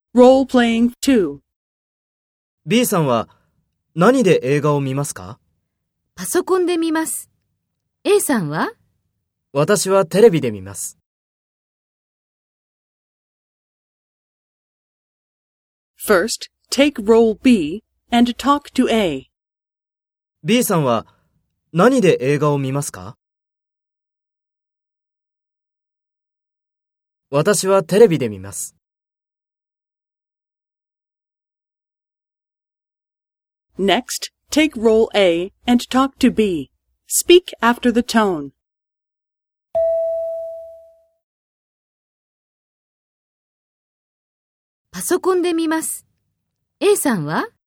Role-playing 2. B さんは何で映画を見ますか？ パソコンで見ます。A さんは？ 私はテレビで見ます。 First, take role B and talk to A. B さんは何で映画を見ますか？私はテレビで見ます。 Next, take role A and talk to B. Speak after the tone. パソコンで見ます。A さんは？